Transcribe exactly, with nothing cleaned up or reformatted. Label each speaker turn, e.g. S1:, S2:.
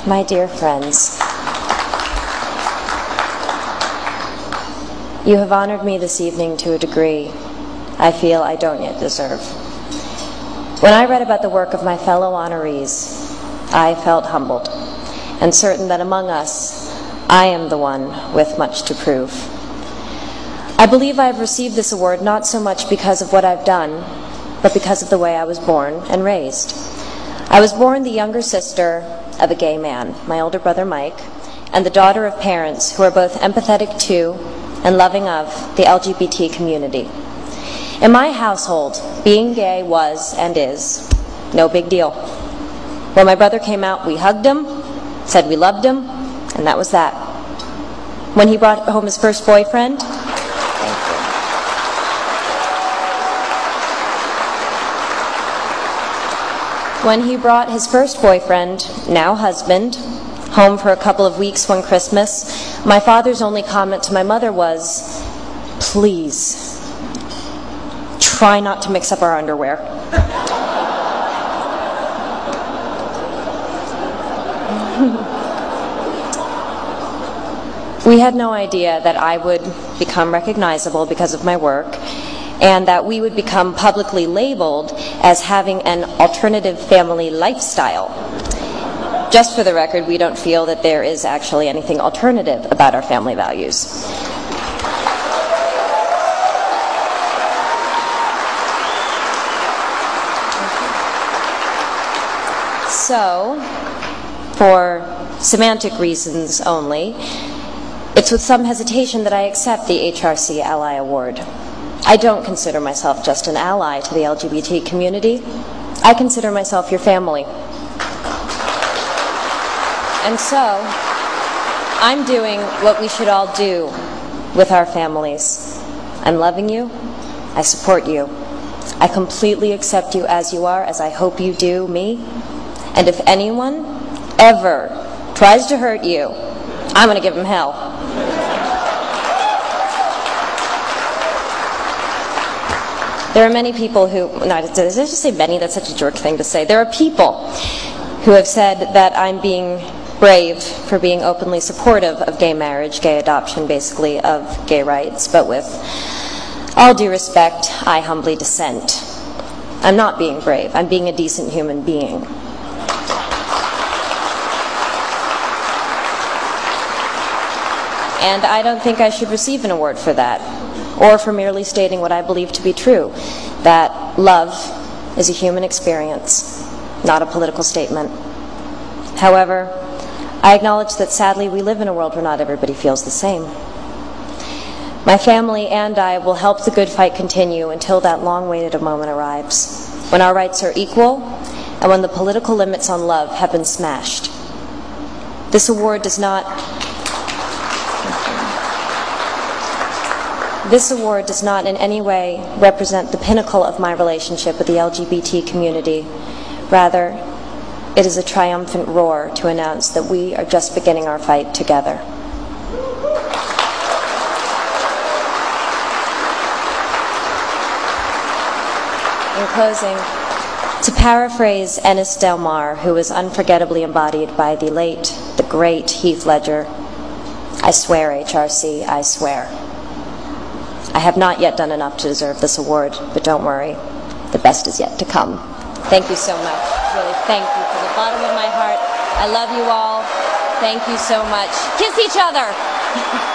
S1: my dear friends, you have honored me this evening to a degree I feel I don't yet deserve. When I read about the work of my fellow honorees, I felt humbled and certain that among us, I am the one with much to prove. I believe I have received this award not so much because of what I've done, but because of the way I was born and raised. I was born the younger sister of a gay man, my older brother Mike, and the daughter of parents who are both empathetic to and loving of the L G B T community. In my household, being gay was and is no big deal. When my brother came out, we hugged him, said we loved him, and that was that. When he brought home his first boyfriend, When he brought his first boyfriend, now husband, home for a couple of weeks one Christmas, my father's only comment to my mother was, "Please, try not to mix up our underwear." We had no idea that I would become recognizable because of my work, and that we would become publicly labeled as having an alternative family lifestyle. Just for the record, we don't feel that there is actually anything alternative about our family values. So, for semantic reasons only, it's with some hesitation that I accept the H R C Ally Award. I don't consider myself just an ally to the L G B T community. I consider myself your family. And so, I'm doing what we should all do with our families. I'm loving you. I support you. I completely accept you as you are, as I hope you do me. And if anyone ever tries to hurt you, I'm going to give them hell. There are many people who, no, did I just say many? That's such a jerk thing to say. There are people who have said that I'm being brave for being openly supportive of gay marriage, gay adoption, basically, of gay rights, but with all due respect, I humbly dissent. I'm not being brave. I'm being a decent human being. And I don't think I should receive an award for that, or for merely stating what I believe to be true, that love is a human experience, not a political statement. However, I acknowledge that sadly we live in a world where not everybody feels the same. My family and I will help the good fight continue until that long-awaited moment arrives, when our rights are equal and when the political limits on love have been smashed. This award does not This award does not in any way represent the pinnacle of my relationship with the L G B T community. Rather, it is a triumphant roar to announce that we are just beginning our fight together. In closing, to paraphrase Ennis Del Mar, who was unforgettably embodied by the late, the great Heath Ledger, I swear, H R C, I swear. I have not yet done enough to deserve this award, but don't worry, the best is yet to come. Thank you so much. Really, thank you from the bottom of my heart. I love you all. Thank you so much. Kiss each other.